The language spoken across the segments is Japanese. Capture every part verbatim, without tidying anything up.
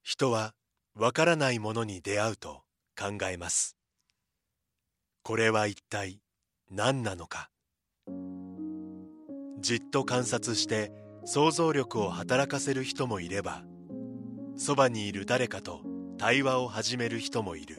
人はわからないものに出会うと考えます。これは一体何なのか。じっと観察して想像力を働かせる人もいれば、そばにいる誰かと対話を始める人もいる。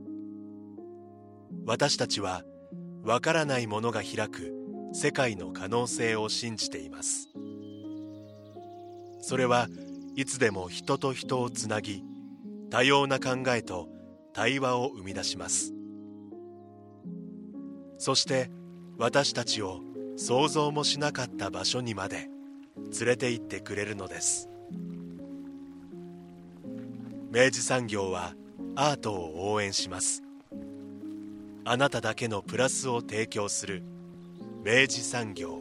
私たちはわからないものが開く世界の可能性を信じています。それはいつでも人と人をつなぎ、多様な考えと対話を生み出します。そして私たちを想像もしなかった場所にまで連れて行ってくれるのです。明治産業はアートを応援します。あなただけのプラスを提供する明治産業。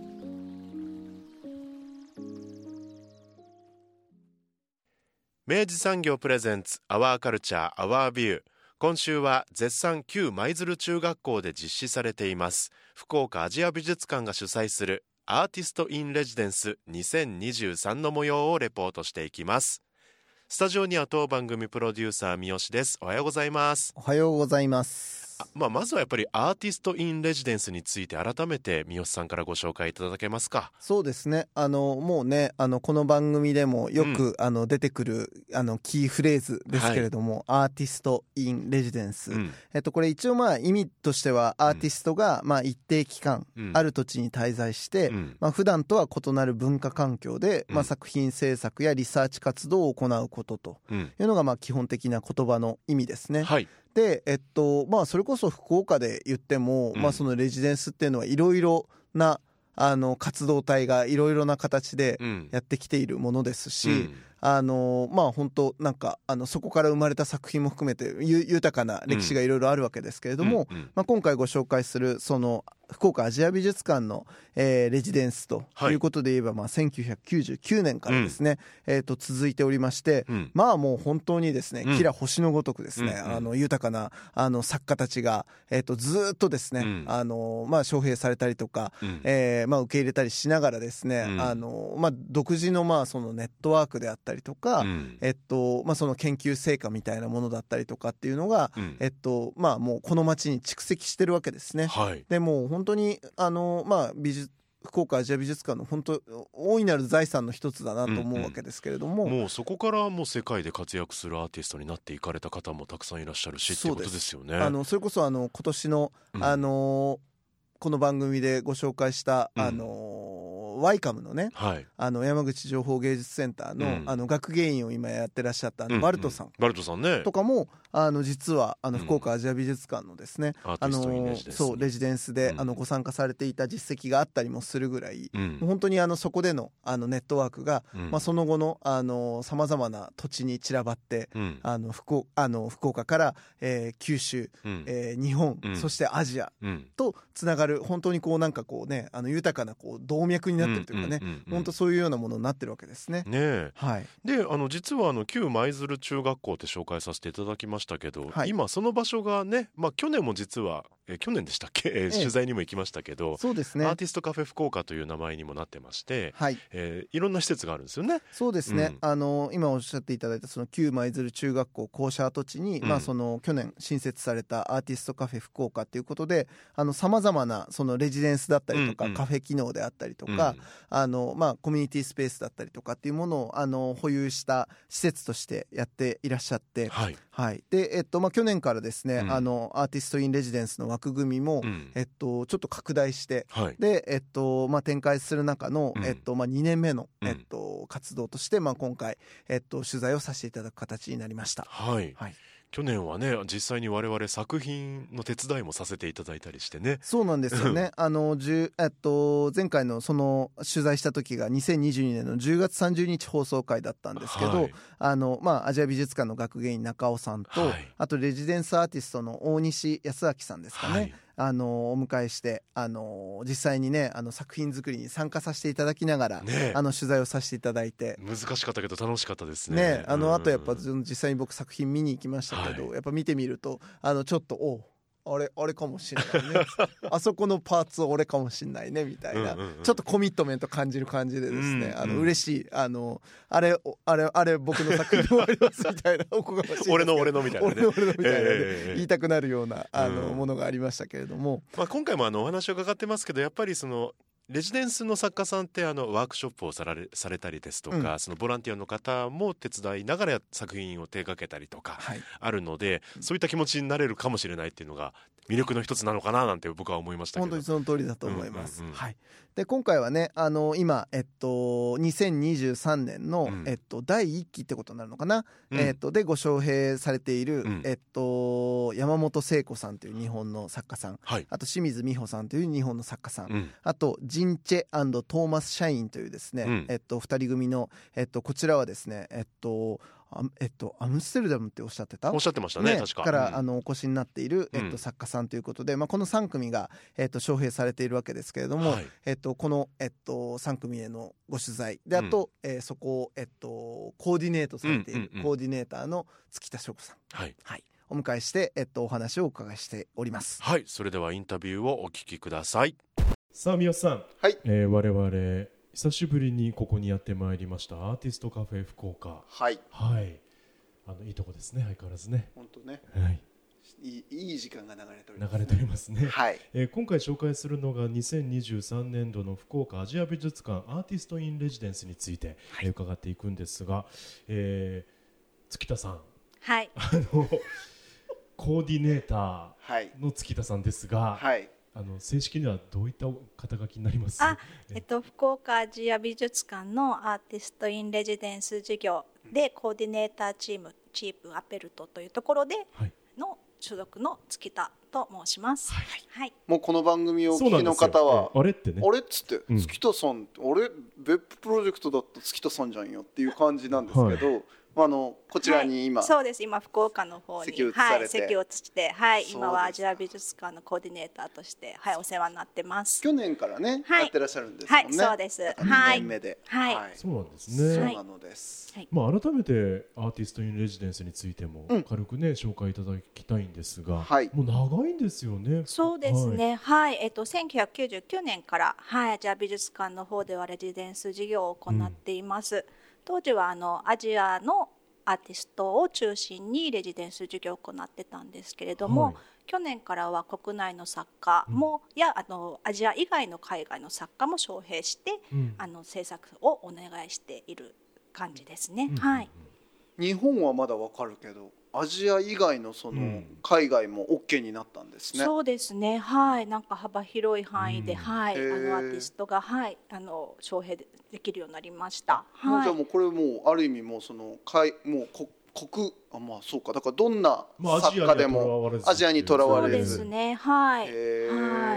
明治産業プレゼンツアワーカルチャーアワービュー。今週は絶賛旧舞鶴中学校で実施されています福岡アジア美術館が主催するアーティストインレジデンスにせんにじゅうさんの模様をレポートしていきます。スタジオには当番組プロデューサー三好です。おはようございます。 おはようございます。 あ、まあ、まずはやっぱりアーティストインレジデンスについて改めて三好さんからご紹介いただけますか。 そうですね、あのもうねあのこの番組でもよく、うん、あの出てくるあのキーフレーズですけれども、はい、アーティストインレジデンス、うん、えっと、これ一応まあ意味としてはアーティストがまあ一定期間、うん、ある土地に滞在して、うん、まあ、普段とは異なる文化環境で、うん、まあ、作品制作やリサーチ活動を行うことというのがまあ基本的な言葉の意味ですね。はい。で、えっとまあ、それこそ福岡で言っても、うん、まあ、そのレジデンスっていうのはいろいろなあの活動体がいろいろな形でやってきているものですし、うん、あのまあ本当なんかあのそこから生まれた作品も含めて豊かな歴史がいろいろあるわけですけれども、うんうんうん、まあ、今回ご紹介するその福岡アジア美術館の、えー、レジデンスということで言えば、はい、まあ、せんきゅうひゃくきゅうじゅうきゅうねんからですね、うん、えー、と続いておりまして、うん、まあもう本当にですね、うん、キラ星のごとくですね、うん、あの豊かなあの作家たちが、えー、とずっとですね、うん、あのまあ、招聘されたりとか、うん、えーまあ、受け入れたりしながらですね、うん、あのまあ、独自のまあそのネットワークであったりとか、うん、えっとまあ、その研究成果みたいなものだったりとかっていうのが、うん、えっとまあ、もうこの町に蓄積してるわけですね。はい、でもう本当にあの、まあ、美術福岡アジア美術館の本当大いなる財産の一つだなと思うわけですけれども、 うんうん、もうそこからもう世界で活躍するアーティストになっていかれた方もたくさんいらっしゃるしっていうことですよね。 あのそれこそあの今年の、うん、あのこの番組でご紹介した、うん、あのワイカムのね、はい、あの山口情報芸術センター の,、うん、あの学芸員を今やってらっしゃったあのバルトさん、うんうん、 バルトさんねとかもあの実はあの福岡アジア美術館のですね、うん、あのそうレジデンスで、うん、あのご参加されていた実績があったりもするぐらい、うん、本当にあのそこでのあのネットワークが、うん、まあ、その後のさまざまな土地に散らばって、うん、あの 福, あの福岡から、えー、九州、うん、えー、日本、うん、そしてアジアとつながる本当にこうなんかこうねあの豊かなこう動脈になってるというかね、うんうんうんうん、本当そういうようなものになってるわけですね。ねえ、はい、であの実はあの旧舞鶴中学校って紹介させていただきましたけど、はい、今その場所がね、まあ、去年も実はえ去年でしたっけ、えー、取材にも行きましたけど、 そうですね、 アーティストカフェ福岡という名前にもなってまして、はい、えー、いろんな施設があるんですよね。 そうですね、うん、あの今おっしゃっていただいたその旧舞鶴中学校校舎跡地に、うん、まあ、その去年新設されたアーティストカフェ福岡ということでさまざまなそのレジデンスだったりとか、うんうん、カフェ機能であったりとか、うん、あのまあ、コミュニティスペースだったりとかっていうものをあの保有した施設としてやっていらっしゃって、はいはい、でえっとまあ、去年からですね、うん、あのアーティストインレジデンスの枠組みも、うん、えっと、ちょっと拡大して、はい、でえっとまあ、展開する中の、うんえっとまあ、にねんめの、えっと、活動として、まあ、今回、えっと、取材をさせていただく形になりました。 はい、はい、去年はね実際に我々作品の手伝いもさせていただいたりしてね。 そうなんですよねあの、えっと、前回のその取材した時がにせんにじゅうにねんのじゅうがつさんじゅうにち放送回だったんですけど、はい、あのまあ、アジア美術館の学芸員中尾さんと、はい、あとレジデンスアーティストの大西康明さんですかね、はい、あのお迎えしてあの実際にねあの作品作りに参加させていただきながら、ね、あの取材をさせていただいて難しかったけど楽しかったですね。 ねあのあとやっぱ実際に僕作品見に行きましたけど、はい、やっぱ見てみるとあのちょっとおあれあれかもしれないねあそこのパーツ俺かもしれないねみたいな、うんうんうん、ちょっとコミットメント感じる感じでですね、うんうん、あの嬉しいあのあれあれあれ僕の作品でもありますみたいなおこがましいですけど俺の俺のみたいな、ね、 俺の俺のみたいな、ねえー、言いたくなるようなあの、うん、ものがありましたけれども、 まあ、今回もあのお話を伺ってますけどやっぱりそのレジデンスの作家さんってあのワークショップをされ、されたりですとか、うん、そのボランティアの方も手伝いながら作品を手掛けたりとかあるので、はい、そういった気持ちになれるかもしれないっていうのが魅力の一つなのかななんて僕は思いましたけど。 本当にその通りだと思います、うんうんうん、はい。で今回はねあの今、えっと、にせんにじゅうさんねんの、うんえっと、だいいっきってことになるのかな、うんえっと、でご招聘されている、うんえっと、山本聖子さんという日本の作家さん、はい、あと清水美穂さんという日本の作家さん、うん、あとジンチェ&トーマス・シャインというですね、うんえっと、ふたり組の、えっと、こちらはですね、えっとえっと、アムステルダムっておっしゃってたおっしゃってましたね、 ね確かから、 うん、 あのお越しになっている、えっと、作家さんということで、まあ、このさん組が、えっと、招聘されているわけですけれども、はいえっと、この、えっと、さん組へのご取材であと、うんえー、そこを、えっと、コーディネートされている、うんうんうん、コーディネーターの月田翔子さん、はいはい、お迎えして、えっと、お話をお伺いしております。 はい、それではインタビューをお聞きください。 さあ三好さん、 はいえー、我々久しぶりにここにやってまいりましたアーティストカフェ福岡、 はい、 はい、あのいいとこですね、相変わらずね。 本当ね、 はい、 いい、いい時間が流れております、 流れておりますね、 はいえー、今回紹介するのがにせんにじゅうさんねんどの福岡アジア美術館アーティストインレジデンスについて、はいえー、伺っていくんですが、えー、月田さん、 はい、 あのコーディネーターの月田さんですが、はい、あの正式にはどういった肩書きになります？ あ、えっと、福岡アジア美術館のアーティストインレジデンス事業でコーディネーターチームチープアペルトというところでの所属の月田と申します、はいはい、 もうこの番組をお聞きの方はあれってね、 あれっつって、うん、月田さん俺別府プロジェクトだった月田さんじゃんよっていう感じなんですけど、はいあのこちらに今、 はい、そうです今福岡の方に席を移されて、 はい、席を移して、はい、今はアジア美術館のコーディネーターとして、はい、お世話になってます。 去年からね、はい、やってらっしゃるんですもんね。 はい、そうです。 にねんめで、 はいはい、 そうなんですね。 そうなのです、 はいまあ、改めてアーティストインレジデンスについても軽くね、うん、紹介いただきたいんですが、はい、もう長いんですよね。 そうですね、はい、はいえっと、せんきゅうひゃくきゅうじゅうきゅうねんから、はい、アジア美術館の方ではレジデンス事業を行っています、うん、当時はあのアジアのアーティストを中心にレジデンス授業を行ってたんですけれども、はい、去年からは国内の作家も、うん、やあのアジア以外の海外の作家も招聘して、うん、あの制作をお願いしている感じですね、うんはい、 日本はまだわかるけどアジア以外のその海外も OK になったんですね、 うん、そうですね、はい、なんか幅広い範囲で、うんはい、あのアーティストが、はい、あの招聘できるようになりました、 はい、じゃあもうこれもうある意味もうその海もうこ国あまあそうかだからどんな作家でもアジアにとらわれず、 そうですね、はい、 はい、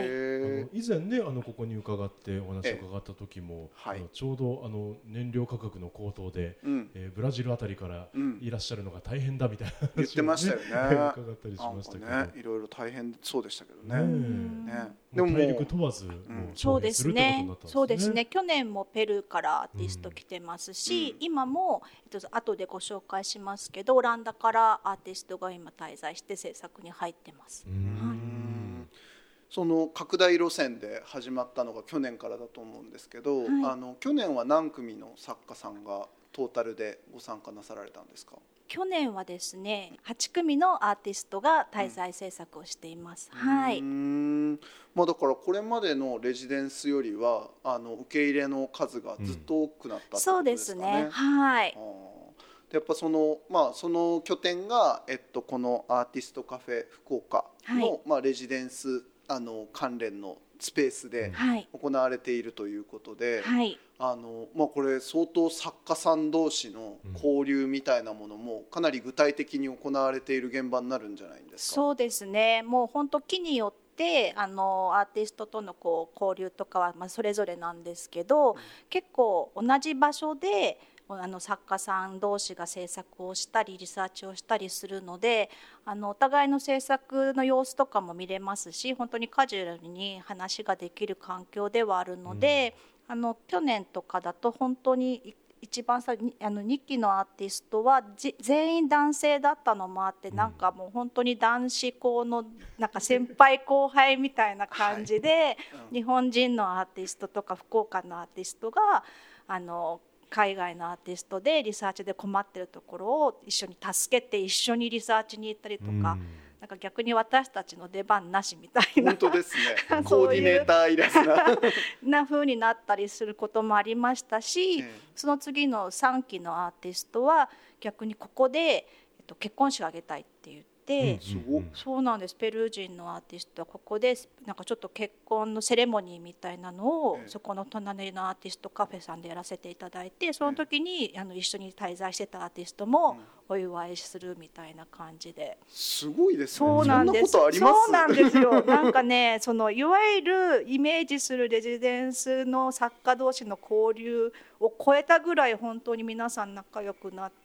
以前ねあのここに伺ってお話を伺った時も、はい、あのちょうどあの燃料価格の高騰で、うんえー、ブラジルあたりからいらっしゃるのが大変だみたいな話を、ね、 言ってましたよね伺ったりしましたけど、 ね、いろいろ大変そうでしたけどね、 ねでも体力問わず、うん、 そうですね、そうですね、去年もペルーからアーティスト来てますし、うん、今も、えっと、後でご紹介しますけどオランダからアーティストが今滞在して制作に入ってます、はい、 その拡大路線で始まったのが去年からだと思うんですけど、はい、あの去年は何組の作家さんがトータルでご参加なさられたんですか？ 去年はですねはち組のアーティストが滞在制作をしています、うん、はい、 うーん、まあ、だからこれまでのレジデンスよりはあの受け入れの数がずっと多くなったってことですかね、うん、 そうですね、はい、 やっぱその、まあ、その拠点が、えっと、このアーティストカフェ福岡の、はいまあ、レジデンスあの関連のスペースで行われているということで、はいあのまあ、これ相当作家さん同士の交流みたいなものもかなり具体的に行われている現場になるんじゃないんですか？ そうですね、もう本当木によってあのアーティストとのこう交流とかはまあそれぞれなんですけど、うん、結構同じ場所であの作家さん同士が制作をしたりリサーチをしたりするのであのお互いの制作の様子とかも見れますし本当にカジュアルに話ができる環境ではあるので、うん、あの去年とかだと本当に一番さあのにきのアーティストは全員男性だったのもあって、うん、なんかもう本当に男子校のなんか先輩後輩みたいな感じで、はいうん、日本人のアーティストとか福岡のアーティストがあの海外のアーティストでリサーチで困ってるところを一緒に助けて一緒にリサーチに行ったりとか、うん、なんか逆に私たちの出番なしみたいな本当ですねコーディネーターいらずなな風になったりすることもありましたし、えー、その次のさんきのアーティストは逆にここで、えっと、結婚式を挙げたいって言ってでうん、そうなんです。ペルー人のアーティストはここでなんかちょっと結婚のセレモニーみたいなのを、ええ、そこの隣のアーティストカフェさんでやらせていただいて、その時に、え、あの一緒に滞在してたアーティストもお祝いするみたいな感じで、 うん、すごいですね。 そうなんです。 そんなことあります？ そうなんですよ。なんかねそのいわゆるイメージするレジデンスの作家同士の交流を超えたぐらい本当に皆さん仲良くなって、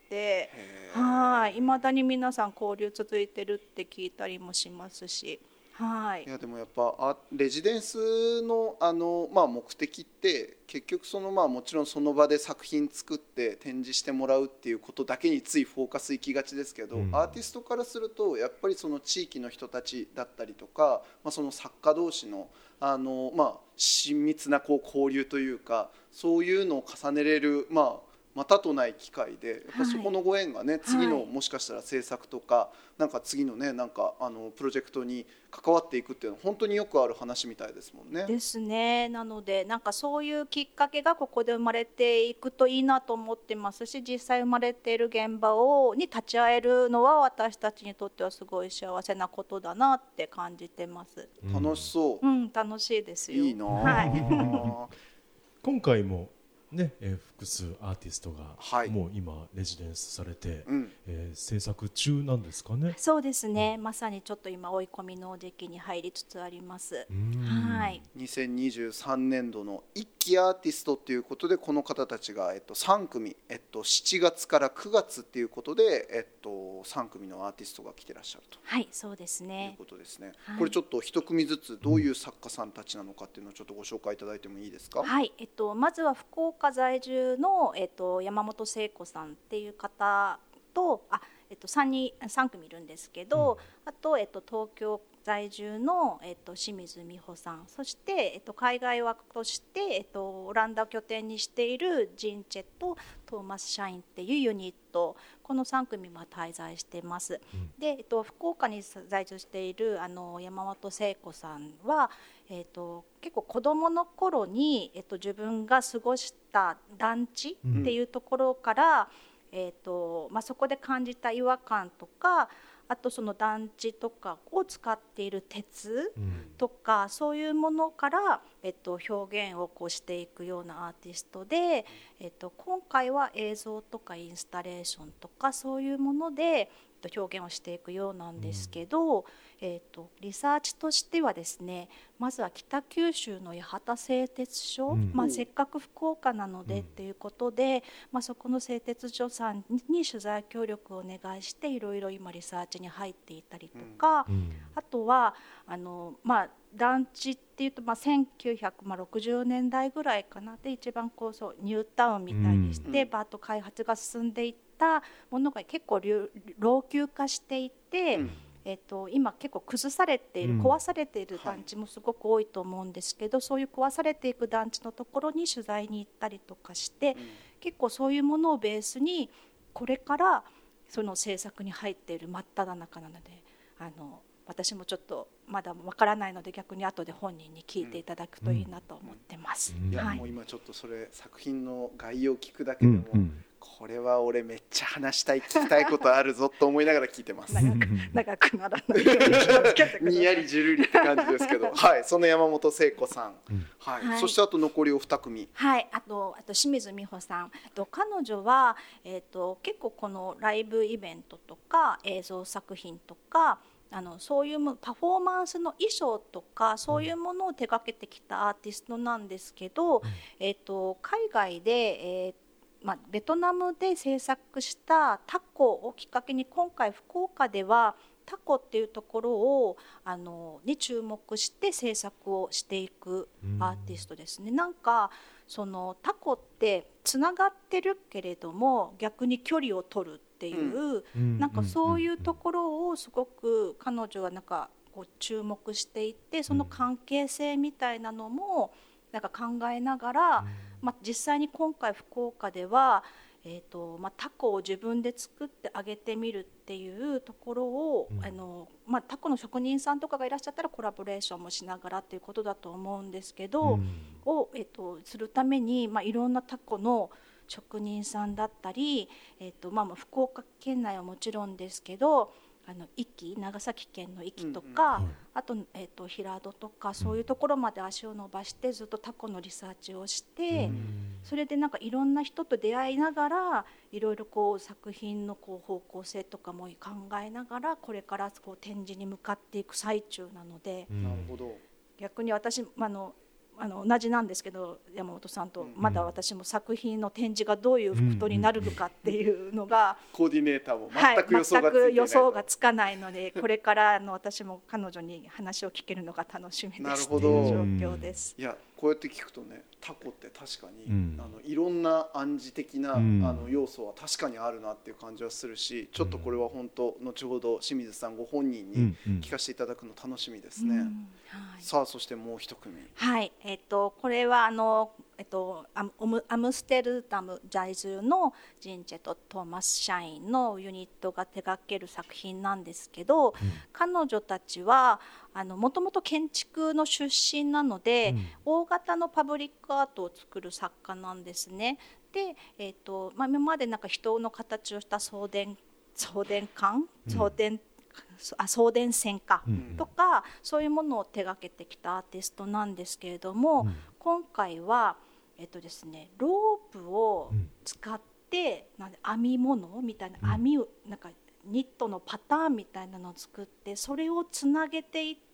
はい未だに皆さん交流続いてるって聞いたりもしますし、はい、 いやでもやっぱレジデンスの、あの、まあ、目的って結局その、まあ、もちろんその場で作品作って展示してもらうっていうことだけについフォーカスいきがちですけど、うん、アーティストからするとやっぱりその地域の人たちだったりとか、まあ、その作家同士の、あの、まあ、親密なこう交流というかそういうのを重ねれる、まあまたとない機会でやっぱそこのご縁がね、はい、次のもしかしたら制作とかなんか次のねなんかあのプロジェクトに関わっていくっていうのは本当によくある話みたいですもんね。 ですね。なのでなんかそういうきっかけがここで生まれていくといいなと思ってますし、実際生まれている現場をに立ち会えるのは私たちにとってはすごい幸せなことだなって感じてます。 楽しそう。 うん、楽しいですよ。 いいな、 はい、 今回もねえー、複数アーティストが、はい、もう今レジデンスされて、うんえー、制作中なんですかね。 そうですね、うん、まさにちょっと今追い込みの時期に入りつつあります。はい、 にせんにじゅうさんねんどの一期アーティストということでこの方たちが、えっと、さんくみ、えっと、しちがつからくがつということで、えっと、さんくみのアーティストが来てらっしゃると、 はい、そうですね、 いうことですね。はい、これちょっと一組ずつどういう作家さんたちなのかっていうのをちょっとご紹介いただいてもいいですか。 はい、えっと、まずは福岡在住の、えっと、山本聖子さんっていう方とあ、えっと、さん, 人さん組いるんですけど、うん、あと、えっと、東京在住の、えっと、清水美穂さん、そして、えっと、海外枠として、えっと、オランダを拠点にしているジンチェとトーマス・シャインっていうユニット、このさん組は滞在しています。うん、で、えっと、福岡に在住しているあの山本聖子さんは、えっと、結構子どもの頃に、えっと、自分が過ごした団地っていうところから、うんえっとまあ、そこで感じた違和感とか、あとその団地とかを使っている鉄とか、うん、そういうものから、えっと、表現をこうしていくようなアーティストで、えっと、今回は映像とかインスタレーションとかそういうもので表現をしていくようなんですけど、うんえっと、リサーチとしてはですね、まずは北九州の八幡製鉄所、うんまあ、せっかく福岡なのでっていうことで、うんまあ、そこの製鉄所さんに取材協力をお願いしていろいろ今リサーチに入っていたりとか、うん、あとはあの、まあ、団地っていうと、まあ、せんきゅうひゃくろくじゅうねんだいぐらいかなで一番こうそうニュータウンみたいにして、うん、バーッと開発が進んでいったものが結構老朽化していて、うんえー、と今結構崩されている、壊されている団地もすごく多いと思うんですけど、はい、そういう壊されていく団地のところに取材に行ったりとかして、うん、結構そういうものをベースにこれからその制作に入っている真っ只中なので、あの私もちょっとまだわからないので逆に後で本人に聞いていただくといいなと思ってます。 いや、もう今ちょっとそれ作品の概要を聞くだけでも、うんうんこれは俺めっちゃ話したい聞きたいことあるぞと思いながら聞いてます。 長く長くならないように気をつけてください。 にやりじゅるりって感じですけど、はい、その山本聖子さん、うんはいはい、そしてあと残りお二組、 はい、あとあと清水美穂さんと彼女は、えー、と結構このライブイベントとか映像作品とかあのそういうパフォーマンスの衣装とかそういうものを手掛けてきたアーティストなんですけど、うんえー、と海外で、えーまあ、ベトナムで制作したタコをきっかけに今回福岡ではタコっていうところをあのに注目して制作をしていくアーティストですね。なんかそのタコってつながってるけれども逆に距離を取るっていう、うん、なんかそういうところをすごく彼女はなんかこう注目していて、その関係性みたいなのもなんか考えながら、うんまあ、実際に今回福岡ではえーとまあ、タコを自分で作ってあげてみるっていうところを、うんあのまあ、タコの職人さんとかがいらっしゃったらコラボレーションもしながらっていうことだと思うんですけど、うん、を、えーと、するために、まあ、いろんなタコの職人さんだったり、えーとまあ、福岡県内はもちろんですけどあの壱岐長崎県の壱岐とか、うんうん、あと、えーと、平戸とかそういうところまで足を伸ばしてずっとタコのリサーチをして、うん、それでなんかいろんな人と出会いながらいろいろこう作品のこう方向性とかも考えながらこれからこう展示に向かっていく最中なので、うん、逆に私あのあの同じなんですけど山本さんとまだ私も作品の展示がどういうことになるのかっていうのが、 コーディネーターも全く予想がついてない、はい、全く予想がつかないのでこれからの私も彼女に話を聞けるのが楽しみですという状況です。 いやこうやって聞くとねタコって確かに、うん、あのいろんな暗示的な、うん、あの要素は確かにあるなっていう感じはするし、ちょっとこれは本当後ほど清水さんご本人に聞かせていただくの楽しみですね、うんうんはい、さあそしてもう一組はい、えー、とこれはあの、えー、とアム、アムステルダム在住のジンチェとトーマス社員のユニットが手掛ける作品なんですけど、うん、彼女たちはもともと建築の出身なので、うん、大型のパブリックアートを作る作家なんですね。で、えーとまあ、今までなんか人の形をした送電送電管、送電、うん、あ送電線か、うん、とかそういうものを手掛けてきたアーティストなんですけれども、うん、今回は、えーとですね、ロープを使って、うん、なんで編み物みたいな編みをなんかニットのパターンみたいなのを作ってそれをつなげていって、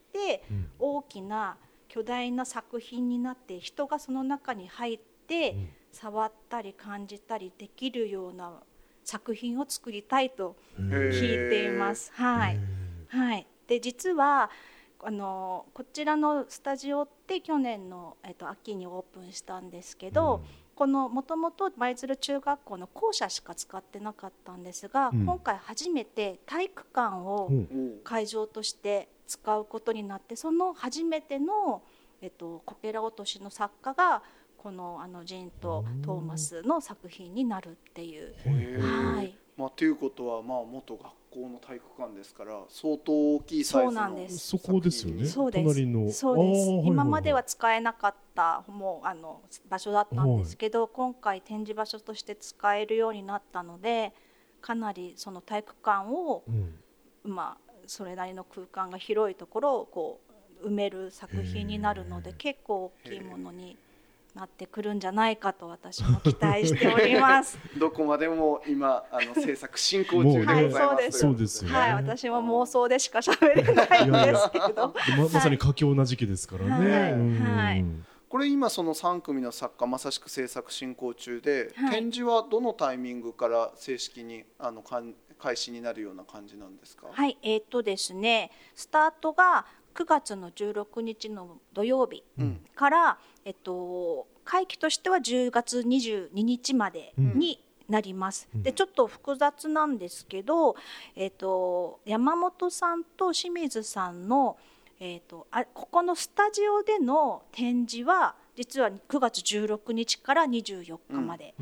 うん、大きな巨大な作品になって人がその中に入って、うん、触ったり感じたりできるような作品を作りたいと聞いています。はいはい、で実はあのこちらのスタジオって去年の、えっと、秋にオープンしたんですけど、うんこのもともと舞鶴中学校の校舎しか使ってなかったんですが、うん、今回初めて体育館を会場として使うことになって、その初めての、えっと、こけら落としの作家がこの、あのジンとトーマスの作品になるっていう。 はいまあ、ということは、まあ、元学校の体育館ですから相当大きいサイズのそうなんです。 そこですよね。 そうです隣のそうです。今までは使えなかったもうあの場所だったんですけど、今回展示場所として使えるようになったのでかなりその体育館を、うんまあ、それなりの空間が広いところをこう埋める作品になるので結構大きいものになってくるんじゃないかと私も期待しておりますどこまでも今あの制作進行中でございます、 はい、そうですよね、はい、私も妄想でしか喋れないんですけどま, まさに佳境な時期ですからね、はいはい、これ今そのさん組の作家まさしく制作進行中で、はい、展示はどのタイミングから正式にあの開始になるような感じなんですか？ はい、えーっとですね、スタートがくがつのじゅうろくにちの土曜日から、うんえっと、会期としてはじゅうがつにじゅうににちまでになります、うん、でちょっと複雑なんですけど、えっと、山本さんと清水さんの、えっと、あここのスタジオでの展示は実はくがつじゅうろくにちからにじゅうよっかまで、うん、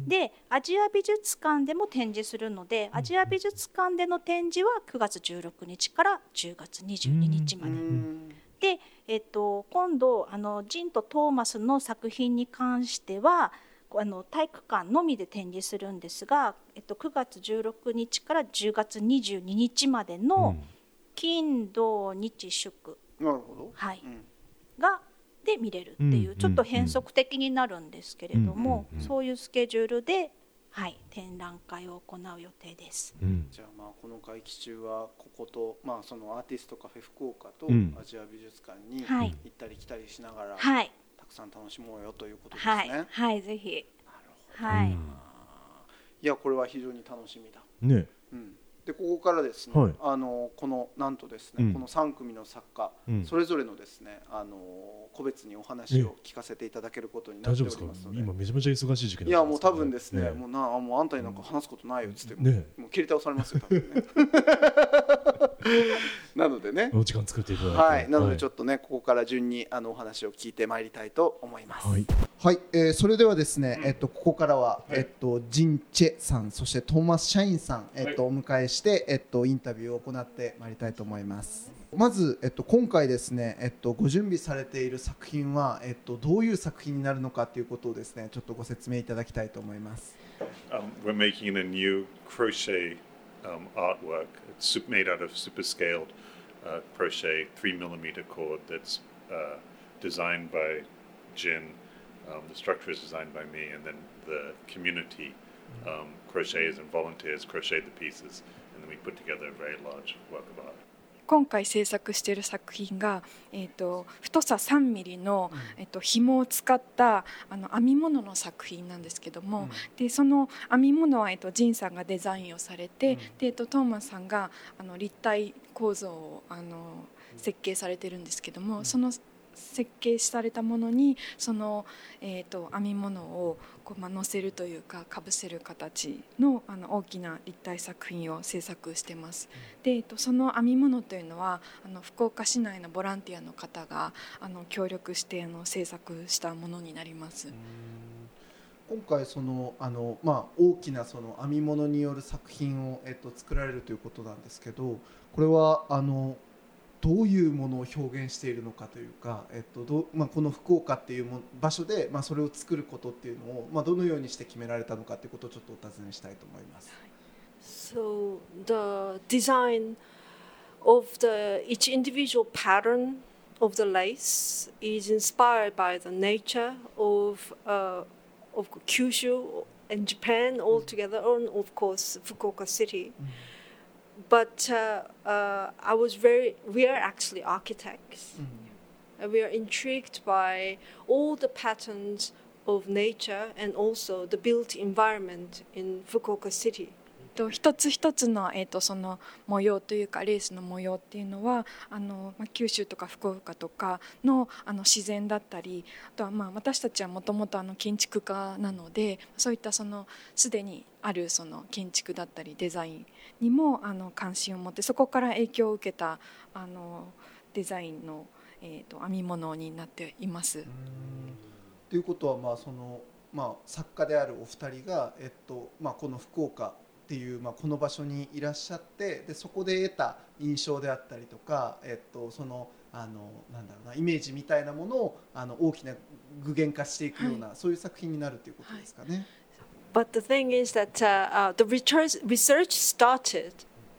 でアジア美術館でも展示するので、うん、アジア美術館での展示はくがつじゅうろくにちからじゅうがつにじゅうににちまで、うん、で、えっと、今度あのジンとトーマスの作品に関してはあの体育館のみで展示するんですが、えっと、くがつじゅうろくにちからじゅうがつにじゅうににちまでの金土日祝、 なるほど、 はいうん、がで見れるっていう、ちょっと変則的になるんですけれども、そういうスケジュールで、はい、展覧会を行う予定です、 うん、じゃあまあこの会期中はここと、まあ、そのアーティストカフェ福岡とアジア美術館に行ったり来たりしながら、はい、たくさん楽しもうよということですね。 はい、はい、ぜひ。 なるほど、はい、 いやこれは非常に楽しみだ。 ね。 うん、でここからですね、はい、あのこのなんとですね、うん、このさん組の作家、うん、それぞれのですねあの個別にお話を聞かせていただけることになっておりますので、 今めちゃめちゃ忙しい時期なんですか、ね、 いやもう多分ですね、ねもうなもうあんたになんか話すことないよっつって、ね、もう切り倒されますよ多分ねなのでねお時間作っていただいて、 はい、なのでちょっとね、はい、ここから順にあのお話を聞いてまいりたいと思います。 はい、はい、えー、それではですね、えっと、ここからは、はい、えっと、ジン・チェさんそしてトーマス・シャインさん、えっと、お迎えして、えっと、インタビューを行ってまいりたいと思います。まず、えっと、今回ですね、えっと、ご準備されている作品は、えっと、どういう作品になるのかということをですねちょっとご説明いただきたいと思います。 Um, we're making a new crochet um, artwork. It's made out of super scaled uh, crochet three millimeter cord that's uh, designed by Jin. Um, the structure is designed by me, and then the community um, crocheters and volunteers crochet the pieces, and then we put together a very large work of art. 今回制作している作品が、えー、と太ささんミリの、えー、と紐を使ったあの編み物の作品なんですけども、うん、でその編み物は、えー、とジンさんがデザインをされて、うん、でえー、とトーマスさんがあの立体構造をあの設計されてるんですけども、うん、その設計されたものにその、えー、と編み物をこう、まあ、乗せるというかかぶせる形 の, あの大きな立体作品を制作してます。で、えー、とその編み物というのはあの福岡市内のボランティアの方があの協力してあの制作したものになります。 今回そのあの、まあ、大きなその編み物による作品を、えー、と作られるということなんですけど、これはあのどういうものを表現しているのかというか、えっとどまあ、この福岡っていう場所で、まあ、それを作ることっていうのを、まあ、どのようにして決められたのかということをちょっとお尋ねしたいと思います。 So the design of the each individual pattern of the lace is inspired by the nature of uh, of Kyushu and Japan altogether, and of course Fukuoka City. But uh, uh, I was very, we are actually architects. Mm-hmm. And we are intrigued by all the patterns of nature and also the built environment in Fukuoka City. 一つ一つの、えー、とその模様というかレースの模様っていうのはあの、まあ、九州とか福岡とか の, あの自然だったり、あとはまあ私たちはもともと建築家なので、そういったそのすでにあるその建築だったりデザインにもあの関心を持って、そこから影響を受けたあのデザインの、えー、と編み物になっています。 ということは、まあそのまあ、作家であるお二人が、えっとまあ、この福岡っていう、まあ、この場所にいらっしゃって、でそこで得た印象であったりとか、えっと、そのあのなんだろうなイメージみたいなものをあの大きな具現化していくような、はい、そういう作品になるということですかね。 はい、But the thing is that uh, uh, the research, research started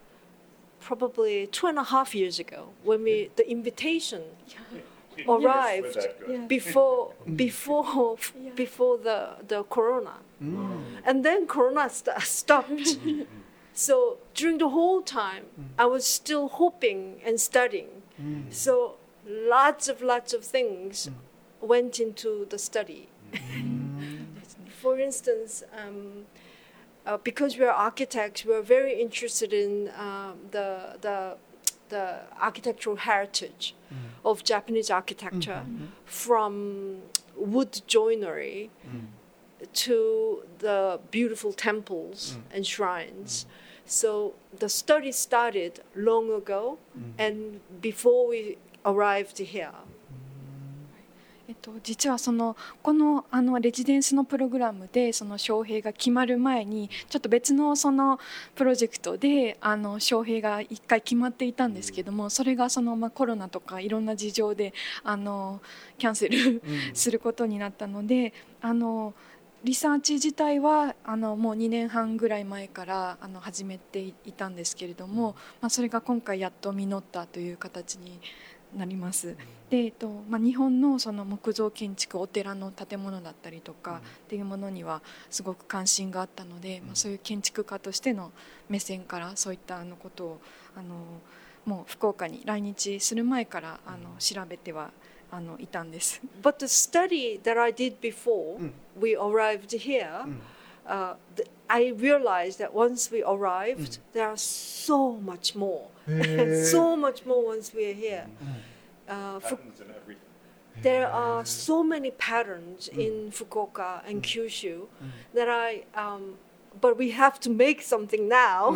probably two and a half years ago when we the invitation arrived yes. before before yeah. before the the corona, mm. and then corona st- stopped. So during the whole time, mm. I was still hoping and studying. Mm. So lots of lots of things mm. went into the study. Mm. For instance, um, uh, because we are architects, we are very interested in uh, the the the architectural heritage mm. of Japanese architecture, mm-hmm. from wood joinery mm. to the beautiful temples mm. and shrines. Mm. So the study started long ago, mm. and before we arrived here. えっと、実はそのこのあのレジデンスのプログラムでその招聘が決まる前にちょっと別のそのプロジェクトであの招聘が一回決まっていたんですけども、それがそのまあコロナとかいろんな事情であのキャンセルすることになったので、あのリサーチ自体はあのもうにねんはんぐらい前からあの始めていたんですけれども、まあ、それが今回やっと実ったという形になります。で、えっとまあ、日本のその木造建築、お寺の建物だったりとかっていうものにはすごく関心があったので、まあ、そういう建築家としての目線からそういったあのことをあのもう福岡に来日する前からあの調べてはあのいたんです。 But the study that I did before we arrived here, uh, the, I realized that once we arrived, there are so much more, so much more once we are here. Uh, Patterns in everything. There are so many patterns in Fukuoka and Kyushu that I, um, but we have to make something now.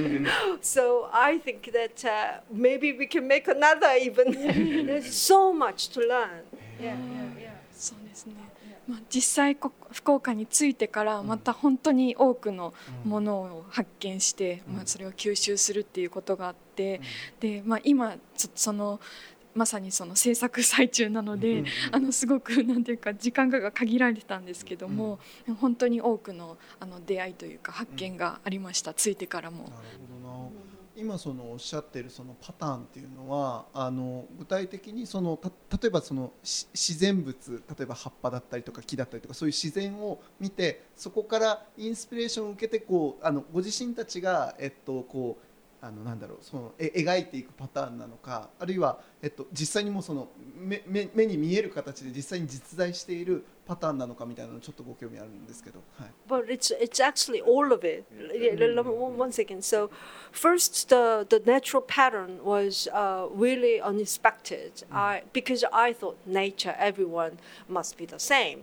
So I think that uh, maybe we can make another even. There's so much to learn. Yeah, yeah, yeah. そうですね。まあ、実際福岡に着いてからまた本当に多くのものを発見して、まあ、それを吸収するっていうことがあって、で、まあ、今そのまさにその制作最中なので、あのすごくなんていうか時間が限られてたんですけども、本当に多くのあの出会いというか発見がありました、着いてからも。 なるほどな。今そのおっしゃってるそのパターンっていうのはあの具体的にそのた例えばその自然物、例えば葉っぱだったりとか木だったりとかそういう自然を見てそこからインスピレーションを受けてこうあのご自身たちがえっとこうあのなんだろうそのえ描いていくパターンなのか、あるいは、えっと、実際にもその 目, 目, 目に見える形で実際に実在しているパターンなのかみたいなのちょっとご興味あるんですけど、はい。 But it's it's actually all of it. One second. So first, the the natural pattern was uh, really unexpected. I because I thought nature, everyone must be the same.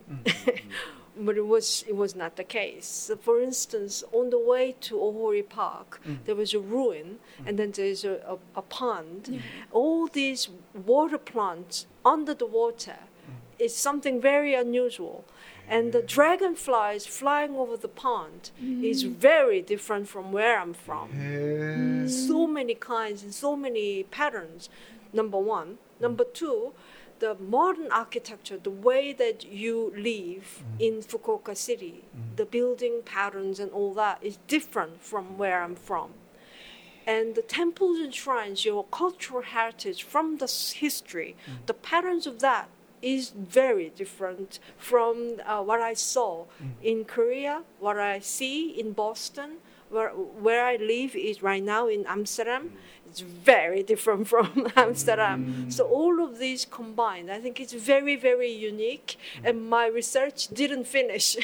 But it was it was not the case. So for instance, on the way to Ohori Park, mm. there was a ruin, mm. and then there's a, a, a pond. Mm. All these water plants under the water mm. is something very unusual. And the dragonflies flying over the pond mm. is very different from where I'm from. Mm. So many kinds and so many patterns, number one. Number two, the modern architecture, the way that you live mm. in Fukuoka City, mm. the building patterns and all that is different from where I'm from. And the temples and shrines, your cultural heritage from the history, mm. the patterns of that is very different from uh, what I saw mm. in Korea, what I see in Boston, where, where I live is right now in Amsterdam. Mm. It's very different from Amsterdam. Mm. So all of these combined, I think it's very, very unique. Mm. And my research didn't finish.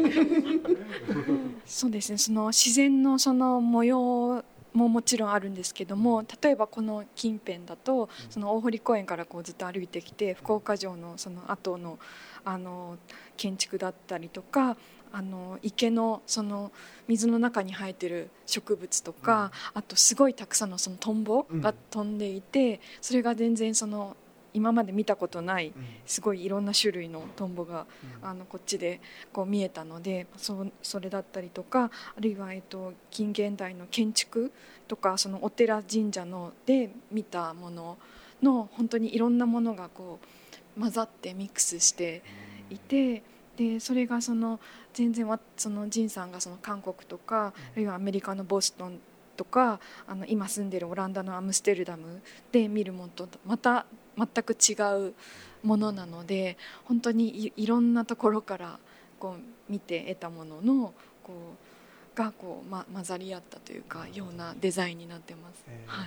そうですね。その自然のその模様ももちろんあるんですけども、例えばこの近辺だとその大堀公園からこうずっと歩いてきて福岡城のその後のあの建築だったりとか。あの池のその水の中に生えてる植物とか、うん、あとすごいたくさんのそのトンボが飛んでいて、うん、それが全然その今まで見たことないすごいいろんな種類のトンボが、うん、あのこっちでこう見えたので、そ, それだったりとか、あるいは、えっと、近現代の建築とかそのお寺神社ので見たものの本当にいろんなものがこう混ざってミックスしていて、でそれがその全然そのジンさんがその韓国とか、あるいはアメリカのボストンとか、あの今住んでるオランダのアムステルダムで見るものとまた全く違うものなので、本当に い, いろんなところからこう見て得たもののこうがこう、ま、混ざり合ったというかようなデザインになってます。はい。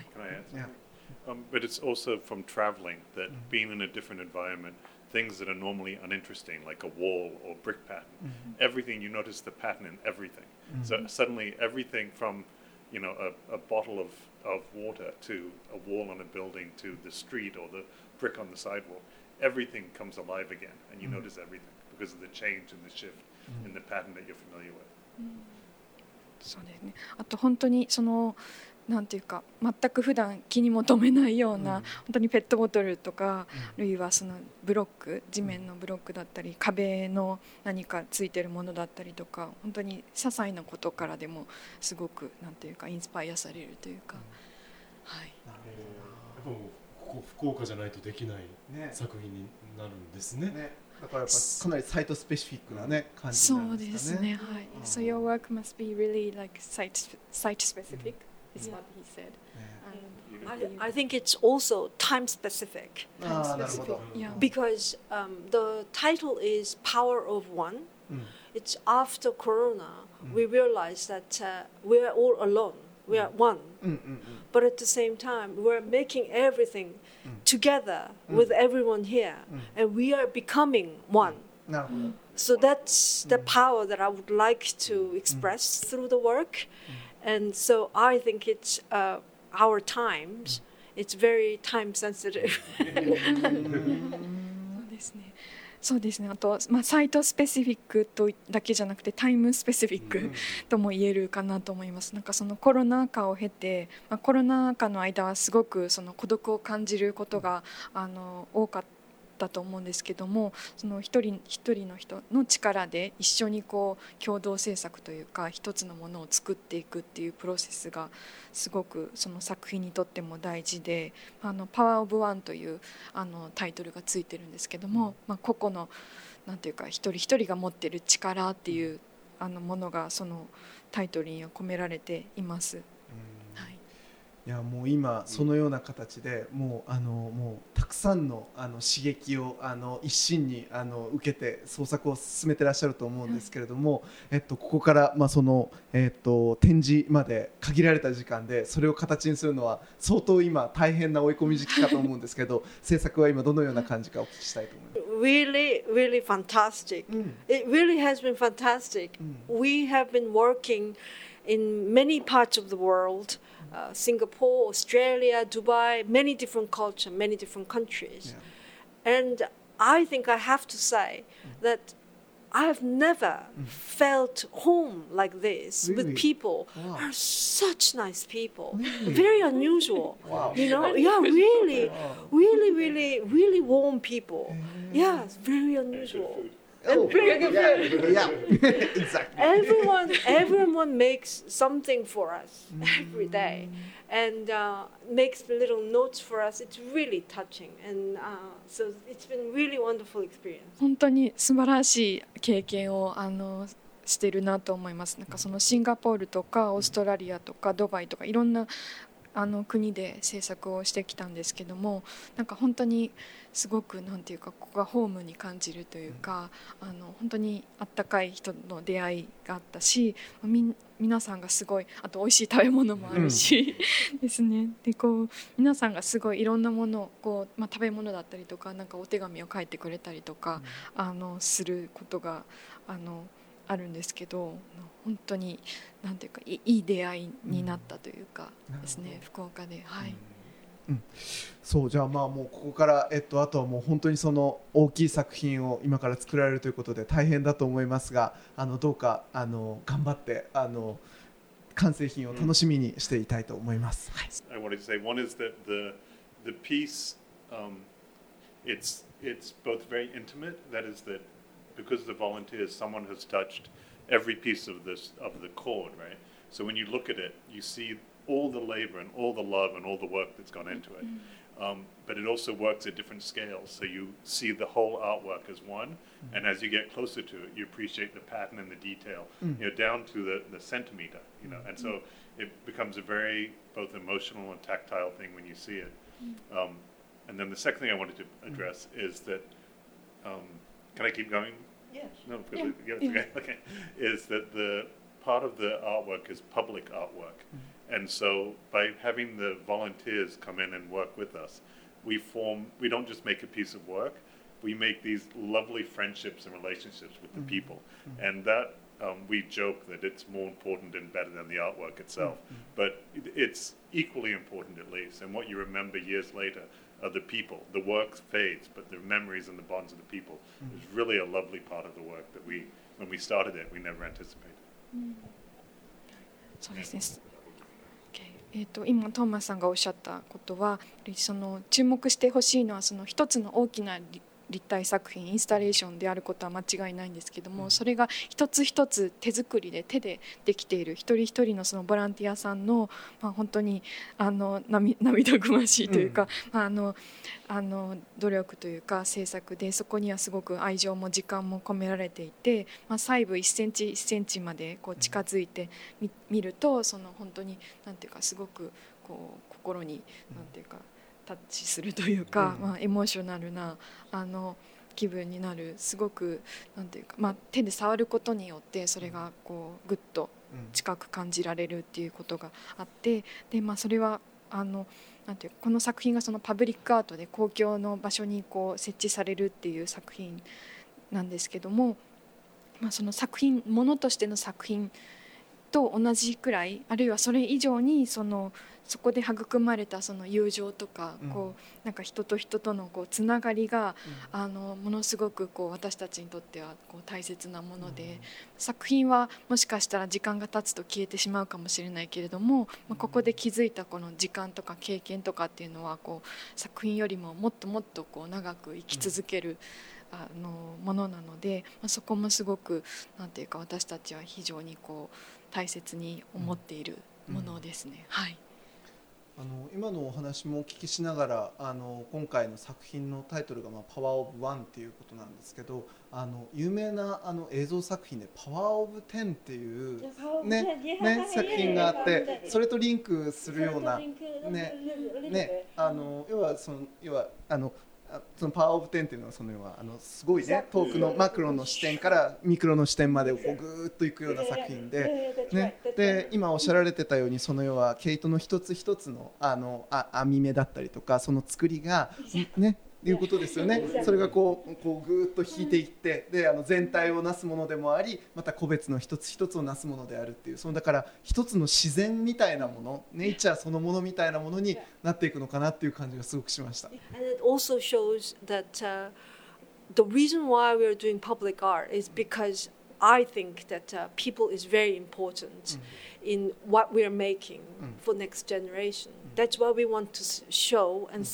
Um, but it's also from traveling that mm-hmm. being in a different environment, things that are normally uninteresting, like a wall or brick pattern, mm-hmm. everything, you notice the pattern in everything. Mm-hmm. So suddenly everything from, you know, a, a bottle of, of water to a wall on a building to the street or the brick on the sidewalk, everything comes alive again, and you mm-hmm. notice everything because of the change and the shift mm-hmm. in the pattern that you're familiar with. Mm-hmm. そうですね。あと本当にそのなんていうか全く普段気にも留めないような、うん、本当にペットボトルとか、うん、あるいはそのブロック、地面のブロックだったり壁の何かついてるものだったりとか、本当に些細なことからでもすごくなんていうかインスパイアされるというか、うん、はい。 なるほど。やっぱここ福岡じゃないとできない作品になるんですね。ね。 だからやっぱかなりサイトスペシフィックなね感じなんですかね。そうですね。はい。So your work must be really like site site specific. Is what he said. Um, I, I think it's also time specific. Time specific. Yeah. Because um, the title is Power of One. Mm. It's after Corona, mm. we realize that uh, we're all alone. We are one. Mm, mm, mm. But at the same time, we're making everything mm. together mm. with everyone here. Mm. And we are becoming one. So that's the power that I would like to express through the work. And so I think it's uh, our times. It's very time sensitive. そうですね。そうですね。あと、まあ、サイトスペシフィックとだけじゃなくてタイムスペシフィックとも言えるかなと思います。なんかそのコロナ禍を経て、まあ、コロナ禍の間はすごくその孤独を感じることがあの多かったと思うんですけども、その一人一人の人の力で一緒にこう共同制作というか一つのものを作っていくっていうプロセスがすごくその作品にとっても大事で、あのパワーオブワンというあのタイトルがついてるんですけども、まあ、個々のなんていうか一人一人が持ってる力っていうあのものがそのタイトルには込められています。 いやもう今そのような形でもうあのもうたくさんのあの刺激をあの一心にあの受けて創作を進めてらっしゃると思うんですけれども、えっとここからまあそのえっと展示まで限られた時間でそれを形にするのは相当今大変な追い込み時期かと思うんですけど、制作は今どのような感じかお聞きしたいと思います。 Really, really fantastic. It really has been fantastic. We have been working in many parts of the world. Uh, Singapore, Australia, Dubai, many different cultures, many different countries. Yeah. And I think I have to say mm. that I have never mm. felt home like this really? With people wow. who are such nice people, really? Very unusual. Wow. You know, yeah, really, wow. really, really, really warm people. Yeah, it's very unusual. Oh, yeah, yeah. Exactly. Everyone, everyone makes something for us every day, and uh, makes little notes for us. It's really touching, and uh, so it's been really wonderful experience. 本当に素晴らしい経験をあのしてるなと思います。なんかそのシンガポールとかオーストラリアとかドバイとかいろんなあの国で制作をしてきたんですけども、なんか本当にすごくなんていうかここがホームに感じるというか、あの本当にあったかい人の出会いがあったし、み皆さんがすごい、あと美味しい食べ物もあるし、うん、ですね。でこう皆さんがすごいいろんなものをこう、まあ、食べ物だったりとか、なんかお手紙を書いてくれたりとか、うん、あのすることがあのあるんですけど、本当になんていうかいい出会いになったというかですね、うん、福岡で、はい、 うん、そうじゃあまあもうここから、えっと、あとはもう本当にその大きい作品を今から作られるということで大変だと思いますが、あのどうかあの頑張ってあの完成品を楽しみにしていたいと思います。 I wanted to say one is that the the piece um, it's it's both very intimate. That is that because of the volunteers, someone has touched every piece of this of the chord, right? So when you look at it, you see all the labor and all the love and all the work that's gone into it. Um, but it also works at different scales. So you see the whole artwork as one, and as you get closer to it, you appreciate the pattern and the detail, you know, down to the, the centimeter, you know. And so it becomes a very both emotional and tactile thing when you see it. Um, and then the second thing I wanted to address is that, um, can I keep going? Yes. No, because yeah. It, yeah, okay. Okay. Is that the part of the artwork is public artwork, mm-hmm. and so by having the volunteers come in and work with us, we form. We don't just make a piece of work; we make these lovely friendships and relationships with the mm-hmm. people, mm-hmm. and that um, we joke that it's more important and better than the artwork itself, mm-hmm. but it's equally important at least. And what you remember years later. Of the people, the work fades, but the memories and the bonds of the people mm-hmm. is really a lovely part of the work that we, when we started it, we never anticipated. そうですね。えーと、今トーマスさんがおっしゃったことは、その注目してほしいのはその一つの大きな立体作品インスタレーションであることは間違いないんですけども、それが一つ一つ手作りで手でできている一人一人のそのボランティアさんの、まあ、本当にあの涙ぐましいというか、うん、あのあの努力というか制作で、そこにはすごく愛情も時間も込められていて、まあ、細部いっセンチいっセンチまでこう近づいて み, 見るとその本当になんていうかすごくこう心になんていうかタッチするというか、まあ、エモーショナルなあの気分になる、すごくなんていうか、まあ、手で触ることによってそれがこうグッと近く感じられるっていうことがあって、で、まあ、それはあのなんていうかこの作品がそのパブリックアートで公共の場所にこう設置されるっていう作品なんですけども、まあ、その作品ものとしての作品と同じくらいあるいはそれ以上にそのそこで育まれたその友情とか、うん、こうなんか人と人とのこうつながりが、うん、あのものすごくこう私たちにとってはこう大切なもので、うん、作品はもしかしたら時間が経つと消えてしまうかもしれないけれども、まあ、ここで気づいたこの時間とか経験とかっていうのはこう作品よりももっともっとこう長く生き続ける、うんあのものなので、まあ、そこもすごくなんていうか私たちは非常にこう大切に思っているものですね、うんうん、はいあの今のお話もお聞きしながらあの今回の作品のタイトルが、まあ、パワーオブワンっていうことなんですけどあの有名なあの映像作品でパワーオブテンっていう、ねね、作品があってそれとリンクするような、ねね、あの要はその要はあのそのパワーオブテンっていうのはその要はあのすごいね遠くのマクロの視点からミクロの視点までこうぐーっといくような作品で、ね、で今おっしゃられてたようにその要は毛糸の一つ一つのあのあ編み目だったりとかその作りがねいうことですよね。それがこうこうぐーっと引いていってであの全体をなすものでもありまた個別の一つ一つをなすものであるっていうそのだから一つの自然みたいなものネイチャーそのものみたいなものになっていくのかなっていう感じがすごくしました。 And it also shows that、uh, the reason why we are doing public art is because I think that、uh, people is very important、mm. in what we are making、mm. for next generation、mm. That's what we want to show and、mm.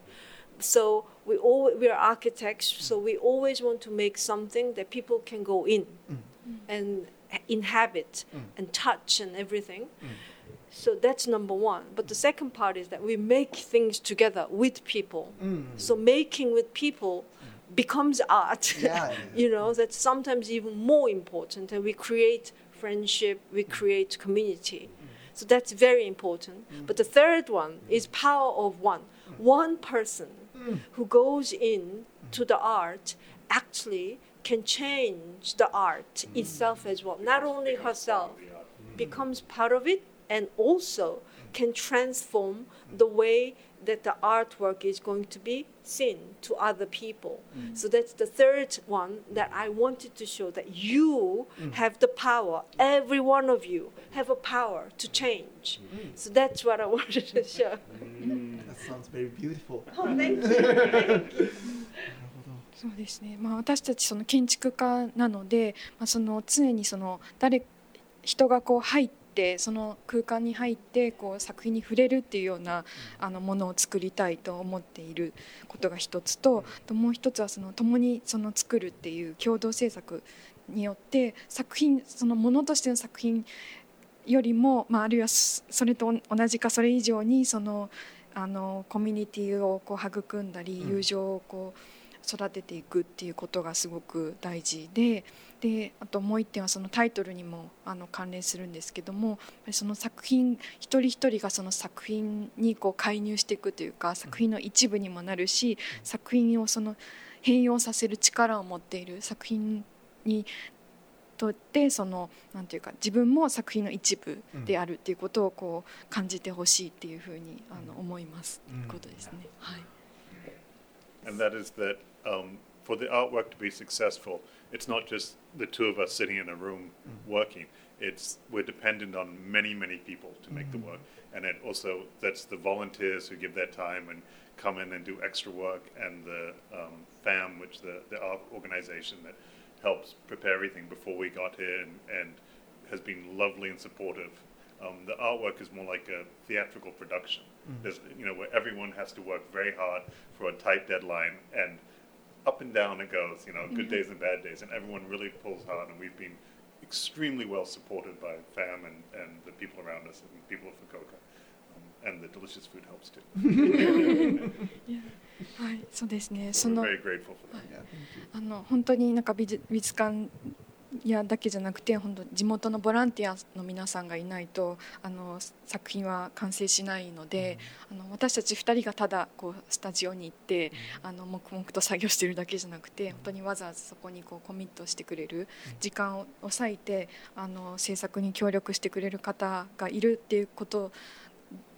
say.So we all we are architects, so we always want to make something that people can go in mm. and inhabit mm. and touch and everything. Mm. So that's number one. But the second part is that we make things together with people. Mm. So making with people mm. becomes art. Yeah, yeah. You know, that's sometimes even more important. And we create friendship, we create community. Mm. So that's very important. Mm. But the third one is power of one. One person.Who goes in to the art actually can change the art itself as well. Not only herself becomes part of it and also can transform the way that the artwork is going to be seen to other people. Mm. So that's the third one that I wanted to show that you mm. have the power. Every one of you have a power to change. Mm. So that's what I wanted to show. Mm. That sounds very beautiful. Oh, thank you. Thank you. そうですね。まあ私たちその建築家なので、まあその常にその誰人がこう入ってでその空間に入ってこう作品に触れるっていうようなあのものを作りたいと思っていることが一つと、もう一つはその共にその作るっていう共同制作によって作品そのものとしての作品よりも、まあ、あるいはそれと同じかそれ以上にそのあのコミュニティをこう育んだり友情をこう育てていくっていうことがすごく大事で、であともう一点はそのタイトルにもあの関連するんですけども、その作品一人一人がその作品にこう介入していくというか作品の一部にもなるし、作品をその変容させる力を持っている作品にとってそのなんていうか自分も作品の一部であるっていうことをこう感じてほしいっていうふうにあの思います、うん、ことですね。はい。 And that is that um, for the artwork to be successful, it's not just the two of us sitting in a room mm. working. It's we're dependent on many, many people to make mm. the work, and it also that's the volunteers who give their time and come in and do extra work, and the um, F A M, which the the art organization that helps prepare everything before we got here, and, and has been lovely and supportive. Um, the artwork is more like a theatrical production. Mm. There's, you know, where everyone has to work very hard for a tight deadline, and up and down it goes, you know, good days and bad days, and everyone really pulls hard, and we've been extremely well supported by F A M and, and the people around us and the people of Fukuoka, um, and the delicious food helps too. Yeah. はい、そうですね。その We're very grateful for that. あの本当になんか美術、美術館やだけじゃなくて本当地元のボランティアの皆さんがいないとあの作品は完成しないので、うん、あの私たちふたりがただこうスタジオに行って、うん、あの黙々と作業しているだけじゃなくて、うん、本当にわざわざそこにこうコミットしてくれる時間を割いてあの制作に協力してくれる方がいるっていうこと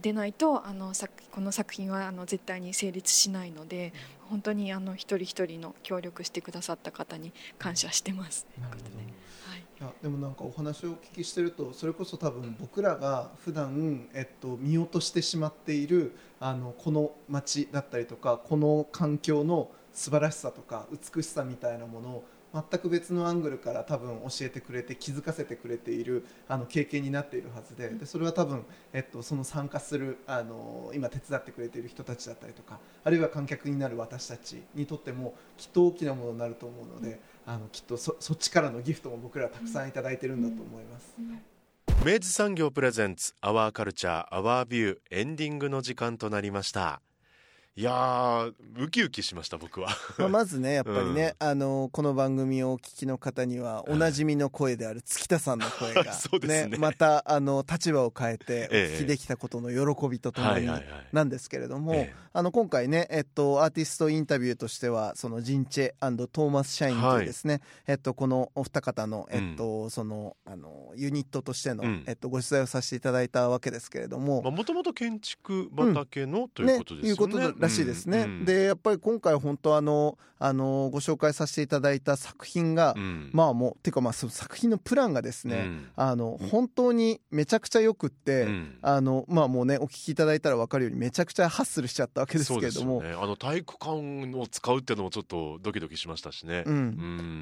でないとあのこの作品はあの絶対に成立しないので、本当にあの一人一人の協力してくださった方に感謝してます。なるほどね。はい、 いやでもなんかお話をお聞きしてると、それこそ多分僕らが普段、えっと、見落としてしまっているあのこの街だったりとかこの環境の素晴らしさとか美しさみたいなものを全く別のアングルから多分教えてくれて気づかせてくれているあの経験になっているはず で, でそれは多分、えっと、その参加するあの今手伝ってくれている人たちだったりとか、あるいは観客になる私たちにとってもきっと大きなものになると思うので、あのきっと そ, そっちからのギフトも僕らはたくさんいただいてるんだと思います。 明治産業プレゼンツアワーカルチャーアワービュー、エンディングの時間となりました。いやーウキウキしました僕はまあまずねやっぱりね、うん、あのこの番組をお聞きの方にはおなじみの声である月田さんの声が、 そうですね、 またあの立場を変えてお聞きできたことの喜びとともになんですけれども、あの今回ね、えっと、アーティストインタビューとしてはそのジンチェ&トーマス・シャインというですね、はい、えっと、このお二方の、えっと、その、あのユニットとしての、うん、えっと、ご取材をさせていただいたわけですけれども、 もともと建築畑の、うん、ということですよね。いうことらしいですね、うん、でやっぱり今回本当あのあのご紹介させていただいた作品が、うん、まあもうてかまあその作品のプランがですね、うん、あの本当にめちゃくちゃよくって、うん、あのまあもうねお聞きいただいたら分かるようにめちゃくちゃハッスルしちゃったわけですけれども、 そうですよね、あの体育館を使うっていうのもちょっとドキドキしましたしね、 うんうん、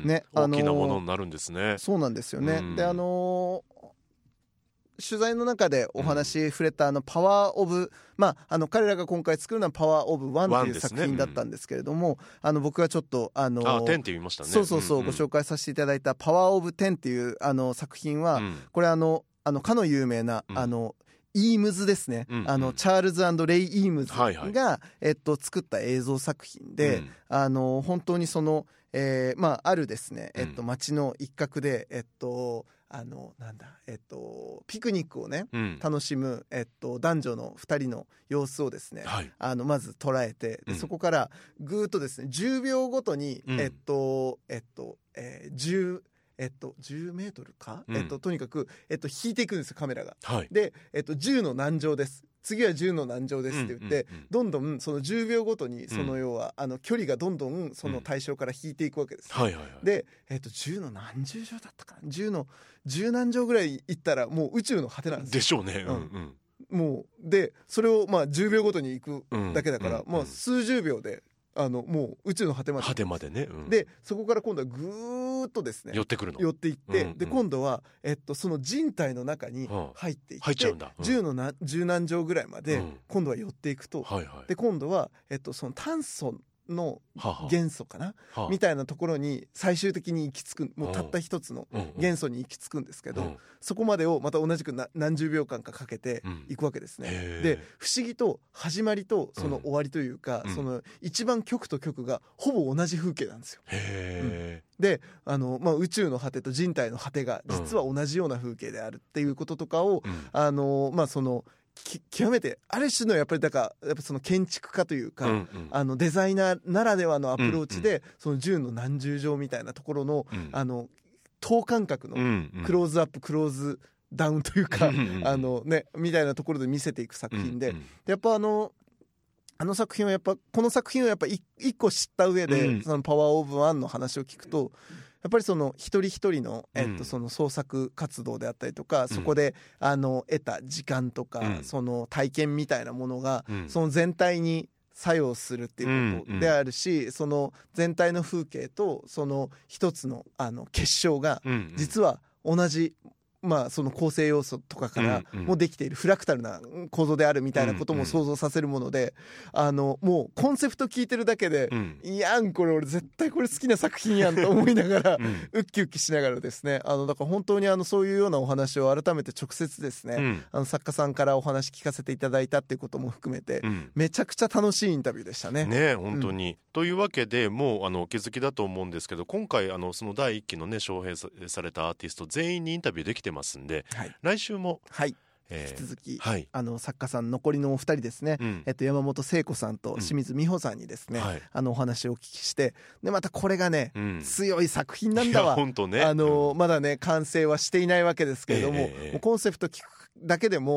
ね、 大きなものになるんですね。 そうなんですよね、うん、であのー取材の中でお話触れたあのパワーオブ、まあ、あの彼らが今回作るのはパワーオブワンという作品だったんですけれども、あの僕がちょっとあのあテンって言いましたね。 そうそうそう、うんうん、ご紹介させていただいたパワーオブテンっていうあの作品は、うん、これあのあのかの有名な、うん、あのイームズですね、うんうん、あのチャールズ&レイ・イームズが、はいはい、えっと、作った映像作品で、うん、あの本当にその、えーまあ、あるですね、えっと、街の一角で、えっとあのなんだえっと、ピクニックをね、うん、楽しむ、えっと、男女のふたりの様子をですね、はい、あのまず捉えて、で、うん、そこからぐーっとですねじゅうびょうごとに、うん、えっとえっと、えー、じゅうえっと、じゅうメートルか、うん、えっと、とにかく、えっと、引いていくんですよカメラが、はい、で、えっと、じゅうの何乗です、次はじゅうの何乗ですって言って、うんうんうん、どんどんそのじゅうびょうごとにその要は、うん、あの距離がどんどんその対象から引いていくわけです、ね、うんはいはいはい、で、えっと、じゅうの何十乗だったかな、じゅうのじゅう何乗ぐらい行ったらもう宇宙の果てなんですよ。 でしょうね、うんうんうん、もうでそれをまあじゅうびょうごとに行くだけだから、うんうんうん、まあ、数十秒であのもう宇宙の果てまで果てまでね、うん、 でそこから今度はぐーっとですね寄ってくるの寄っていって、うんうん、で今度は、えっと、その人体の中に入っていって、 入っちゃうんだ、うん、 じゅうのなじゅう何乗ぐらいまで今度は寄っていくと、うんはいはい、で今度は、えっと、その炭素の元素かな、ははみたいなところに最終的に行き着く、もうたった一つの元素に行き着くんですけど、うんうん、そこまでをまた同じくな何十秒間かかけていくわけですね、うん、で不思議と始まりとその終わりというか、うん、その一番極と極がほぼ同じ風景なんですよ。へー、うん、であの、まあ、宇宙の果てと人体の果てが実は同じような風景であるっていうこととかを、うん、あのまあその極めてある種のやっぱりだからやっぱその建築家というか、うんうん、あのデザイナーならではのアプローチで、うんうん、そのじゅうの何十乗みたいなところの、うん、あの等間隔のクローズアップ、うんうん、クローズダウンというか、うんうん、あのねみたいなところで見せていく作品で、うんうん、やっぱあのあの作品はやっぱこの作品をやっぱ一個知った上で、うん、そのパワーオブワンの話を聞くとやっぱりその一人一人の、えっと、その創作活動であったりとか、うん、そこであの得た時間とか、うん、その体験みたいなものが、うん、その全体に作用するっていうことであるし、うんうん、その全体の風景とその一つのあの結晶が実は同じ、まあ、その構成要素とかからもできているフラクタルな構造であるみたいなことも想像させるもので、あのもうコンセプト聞いてるだけで、うん、いやんこれ俺絶対これ好きな作品やんと思いながら、うん、ウッキウッキしながらですね、あのだから本当にあのそういうようなお話を改めて直接ですね、うん、あの作家さんからお話聞かせていただいたっていうことも含めて、うん、めちゃくちゃ楽しいインタビューでしたね。 ね本当に、うん、というわけでもうあのお気づきだと思うんですけど、今回あのそのだいいっきのね招聘されたアーティスト全員にインタビューできてますんで、はい来週も、 はいえー、引き続き、はい、あの作家さん残りのお二人ですね、うんえっと、山本聖子さんと清水美穂さんにですね、うんはい、あのお話をお聞きしてでまたこれがね、うん、強い作品なんだわ、ね、あの、うん、まだね完成はしていないわけですけれども、えー、もうコンセプト聞くだけでも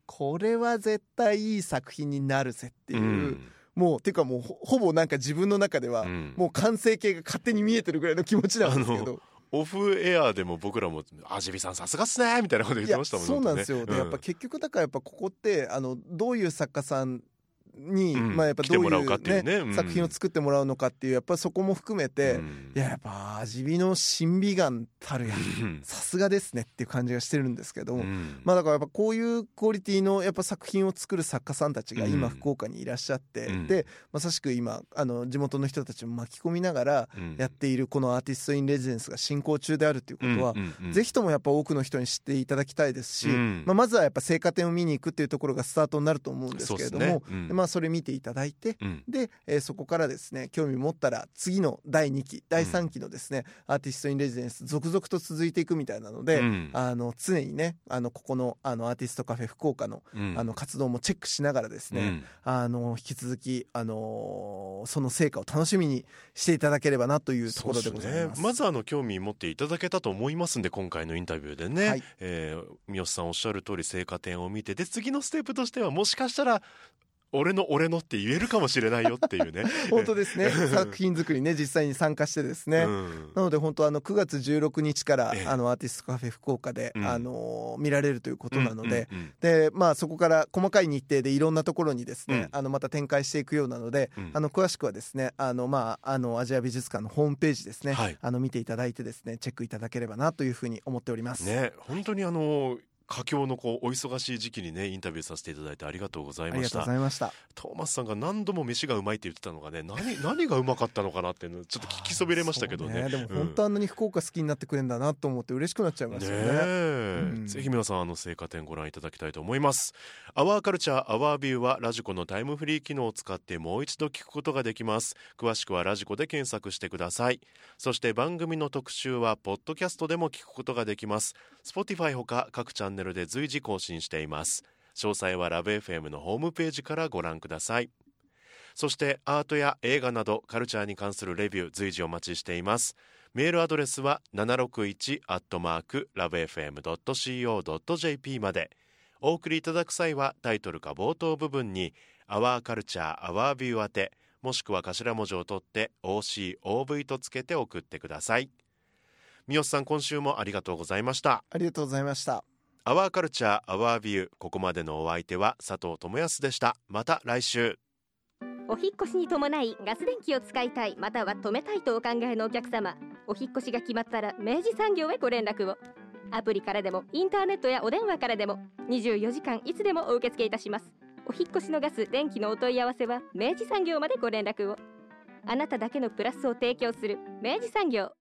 これは絶対いい作品になるぜっていう、うん、もうていうかもう ほ, ほぼなんか自分の中では、うん、もう完成形が勝手に見えてるぐらいの気持ちなんですけど、 オフエアでも僕らもあジビさんさすがっすねみたいなこと言ってましたもんね。 そうなんですよ、でやっぱ結局だからやっぱここってあのどういう作家さんに、うん、まあやっぱどういう、ねねうん、作品を作ってもらうのかっていうやっぱそこも含めて、うん、いややっぱ味見の審美眼たるやさすがですねっていう感じがしてるんですけど、うん、まあだからやっぱこういうクオリティのやっぱ作品を作る作家さんたちが今福岡にいらっしゃって、うん、でまさしく今あの地元の人たちも巻き込みながらやっているこのアーティストインレジデンスが進行中であるということは、うんうんうん、ぜひともやっぱ多くの人に知っていただきたいですし、うんまあ、まずはやっぱ成果点を見に行くっていうところがスタートになると思うんですけれども、そうですね、うん、まあそれ見ていただいて、うん、で、えー、そこからですね興味持ったら次のだいにきだいさんきのですね、うん、アーティストインレジデンス続々と続いていくみたいなので、うん、あの常にねあのここの、あのアーティストカフェ福岡の、うん、あの活動もチェックしながらですね、うん、あの引き続き、あのー、その成果を楽しみにしていただければなというところでございます。 そうですね、まずあの興味持っていただけたと思いますんで今回のインタビューでね、はい、えー、三好さんおっしゃる通り成果点を見て、で次のステップとしてはもしかしたら俺の俺のって言えるかもしれないよっていうね本当ですね作品作りね実際に参加してですね、うん、なので本当あのくがつじゅうろくにちから、ええ、あのアーティストカフェ福岡で、うん、あの見られるということなので、うんうんうん、でまあそこから細かい日程でいろんなところにですね、うん、あのまた展開していくようなので、うん、あの詳しくはですねあのまああのアジア美術館のホームページですね、はい、あの見ていただいてですねチェックいただければなというふうに思っておりますね。 本当にあの佳境のこうお忙しい時期にねインタビューさせていただいてありがとうございました。 ありがとうございました。 トーマスさんが何度も飯がうまいって言ってたのがね 何, 何がうまかったのかなっていうのちょっと聞きそびれましたけど ね, ねでも本当あんなに福岡好きになってくれるんだなと思って嬉しくなっちゃいましたよね。ね、 うん、ぜひ皆さんあの成果点ご覧いただきたいと思います。アワーカルチャーアワービューはラジコのタイムフリー機能を使ってもう一度聞くことができます。詳しくはラジコで検索してください。そして番組の特集はポッドキャストでも聞くことができます。 Spotify ほか各チャンネルで随時更新しています。詳細はラブ エフエム のホームページからご覧ください。そしてアートや映画などカルチャーに関するレビュー随時お待ちしています。メールアドレスは ななろくいち アットマーク ラブエフエム ドット シーオー ドット ジェーピー まで。お送りいただく際はタイトルか冒頭部分に Our Culture Our View 宛てもしくは頭文字を取って オーシーオーブイ とつけて送ってください。三好さん今週もありがとうございました。 ありがとうございました。 アワーカルチャーアワービュー、ここまでのお相手は佐藤智康でした。また来週。 お引越しに伴いガス電気を使いたいまたは止めたいとお考えのお客様、お引越しが決まったら明治産業へご連絡を。アプリからでもインターネットやお電話からでもにじゅうよじかんいつでもお受け付けいたします。お引越しのガス電気のお問い合わせは明治産業までご連絡を。あなただけのプラスを提供する明治産業。